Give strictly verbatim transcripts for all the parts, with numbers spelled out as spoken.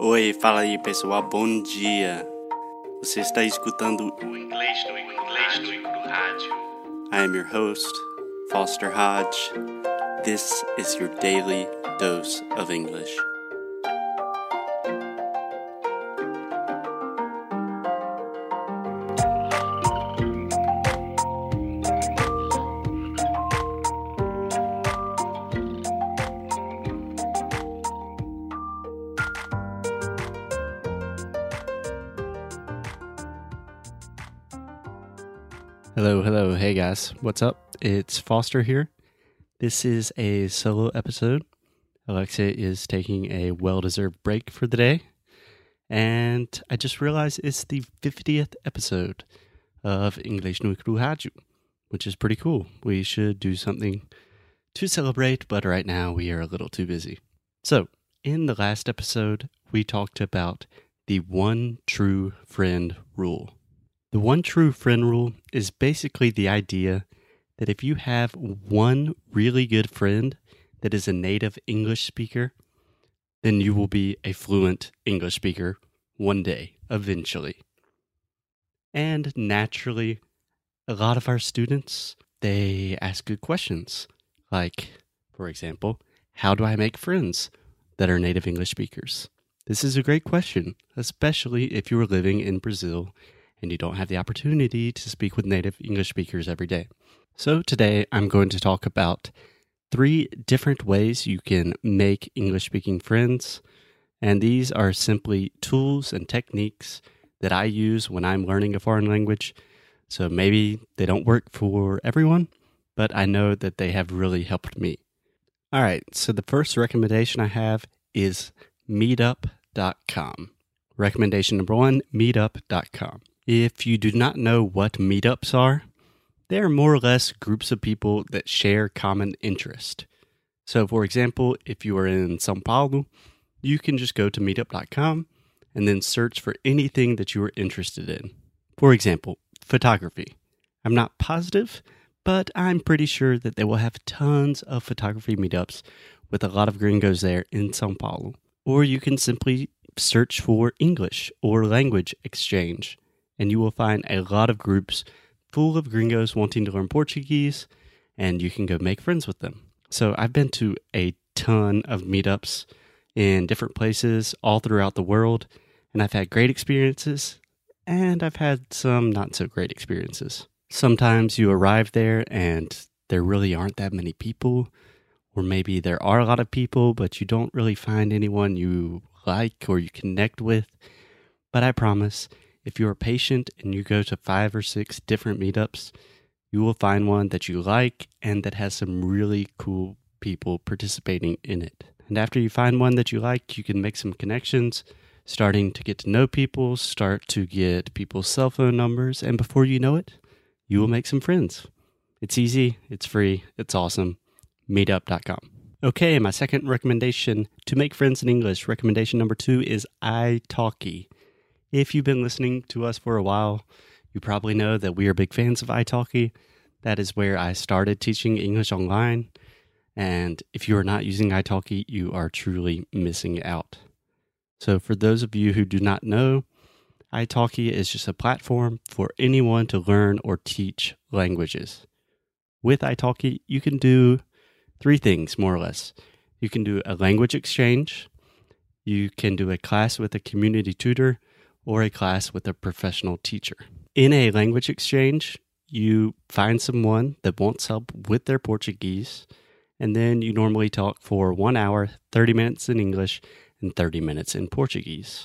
Oi, fala aí pessoal, bom dia. Você está escutando o Inglês no Inglês no Rádio. I am your host, Foster Hodge. This is your daily dose of English. Hello, hello, hey guys, what's up? It's Foster here. This is a solo episode. Alexia is taking a well-deserved break for the day, and I just realized it's the fiftieth episode of English no Rádio, which is pretty cool. We should do something to celebrate, but right now we are a little too busy. So, in the last episode, we talked about the one true friend rule. The one true friend rule is basically the idea that if you have one really good friend that is a native English speaker, then you will be a fluent English speaker one day, eventually. And naturally, a lot of our students, they ask good questions. Like, for example, how do I make friends that are native English speakers? This is a great question, especially if you are living in Brazil and you don't have the opportunity to speak with native English speakers every day. So today I'm going to talk about three different ways you can make English-speaking friends, and these are simply tools and techniques that I use when I'm learning a foreign language. So maybe they don't work for everyone, but I know that they have really helped me. All right, so the first recommendation I have is meetup dot com. Recommendation number one, meetup dot com. If you do not know what meetups are, they are more or less groups of people that share common interest. So, for example, if you are in São Paulo, you can just go to meetup dot com and then search for anything that you are interested in. For example, photography. I'm not positive, but I'm pretty sure that they will have tons of photography meetups with a lot of gringos there in São Paulo. Or you can simply search for English or language exchange, and you will find a lot of groups full of gringos wanting to learn Portuguese, and you can go make friends with them. So I've been to a ton of meetups in different places all throughout the world, and I've had great experiences, and I've had some not so great experiences. Sometimes you arrive there and there really aren't that many people, or maybe there are a lot of people, but you don't really find anyone you like or you connect with. But I promise, if you are patient and you go to five or six different meetups, you will find one that you like and that has some really cool people participating in it. And after you find one that you like, you can make some connections, starting to get to know people, start to get people's cell phone numbers, and before you know it, you will make some friends. It's easy, it's free, it's awesome. meetup dot com. Okay, my second recommendation to make friends in English, recommendation number two is italki. If you've been listening to us for a while, you probably know that we are big fans of italki. That is where I started teaching English online. And if you are not using italki, you are truly missing out. So for those of you who do not know, italki is just a platform for anyone to learn or teach languages. With italki, you can do three things, more or less. You can do a language exchange, you can do a class with a community tutor, or a class with a professional teacher. In a language exchange, you find someone that wants help with their Portuguese, and then you normally talk for one hour, thirty minutes in English, and thirty minutes in Portuguese.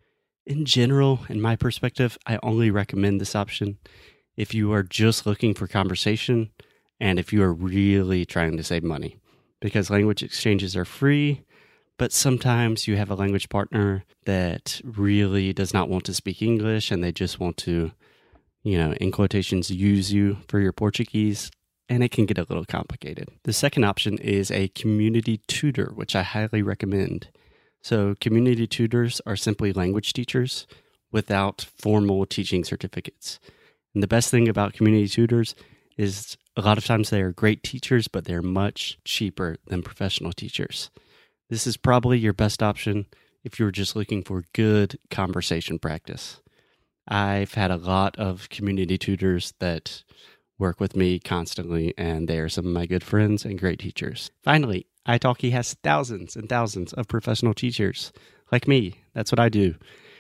In general, in my perspective, I only recommend this option if you are just looking for conversation and if you are really trying to save money, because language exchanges are free, but sometimes you have a language partner that really does not want to speak English and they just want to, you know, in quotations, use you for your Portuguese, and it can get a little complicated. The second option is a community tutor, which I highly recommend. So community tutors are simply language teachers without formal teaching certificates. And the best thing about community tutors is a lot of times they are great teachers, but they're much cheaper than professional teachers. This is probably your best option if you're just looking for good conversation practice. I've had a lot of community tutors that work with me constantly, and they are some of my good friends and great teachers. Finally, italki has thousands and thousands of professional teachers like me. That's what I do.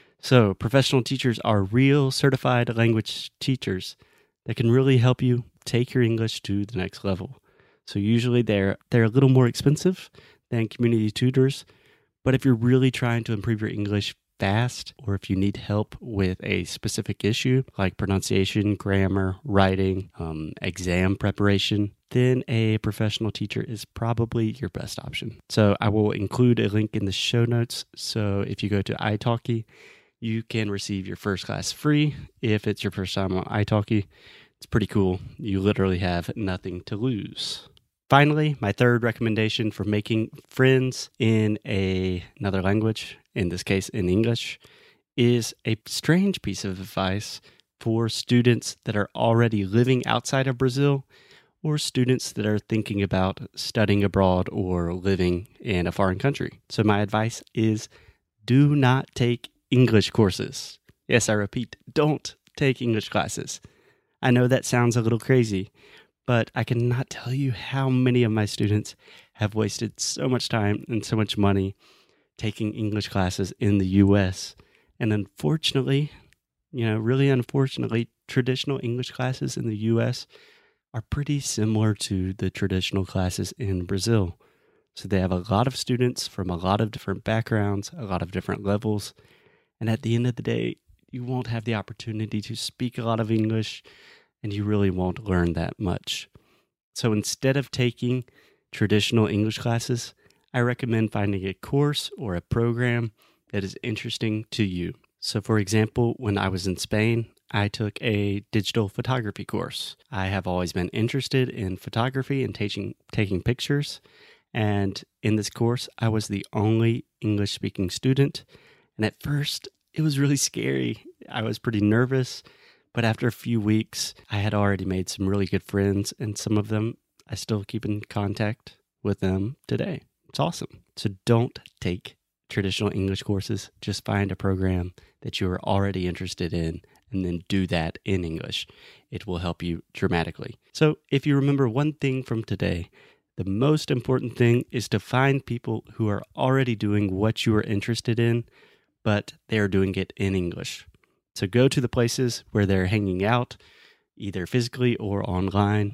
So professional teachers are real certified language teachers that can really help you take your English to the next level. So usually they're they're a little more expensive than community tutors, but if you're really trying to improve your English fast, or if you need help with a specific issue like pronunciation, grammar, writing, um, exam preparation, then a professional teacher is probably your best option. So I will include a link in the show notes. So if you go to italki, you can receive your first class free if it's your first time on italki. It's pretty cool. You literally have nothing to lose. Finally, my third recommendation for making friends in a, another language, in this case in English, is a strange piece of advice for students that are already living outside of Brazil or students that are thinking about studying abroad or living in a foreign country. So my advice is do not take English courses. Yes, I repeat, don't take English classes. I know that sounds a little crazy, but I cannot tell you how many of my students have wasted so much time and so much money taking English classes in the U S. And unfortunately, you know, really unfortunately, traditional English classes in the U S are pretty similar to the traditional classes in Brazil. So they have a lot of students from a lot of different backgrounds, a lot of different levels. And at the end of the day, you won't have the opportunity to speak a lot of English, and you really won't learn that much. So instead of taking traditional English classes, I recommend finding a course or a program that is interesting to you. So for example, when I was in Spain, I took a digital photography course. I have always been interested in photography and taking taking pictures. And in this course, I was the only English-speaking student. And at first, it was really scary. I was pretty nervous. But after a few weeks, I had already made some really good friends, and some of them I still keep in contact with them today. It's awesome. So don't take traditional English courses. Just find a program that you are already interested in and then do that in English. It will help you dramatically. So if you remember one thing from today, the most important thing is to find people who are already doing what you are interested in, but they are doing it in English. So go to the places where they're hanging out, either physically or online,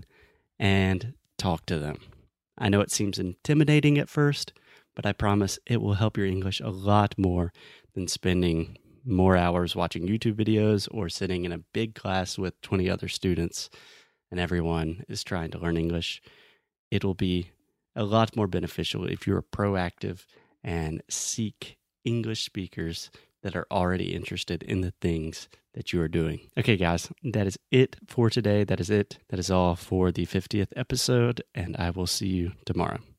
and talk to them. I know it seems intimidating at first, but I promise it will help your English a lot more than spending more hours watching YouTube videos or sitting in a big class with twenty other students and everyone is trying to learn English. It'll be a lot more beneficial if you're proactive and seek English speakers that are already interested in the things that you are doing. Okay, guys, that is it for today. That is it. That is all for the fiftieth episode, and I will see you tomorrow.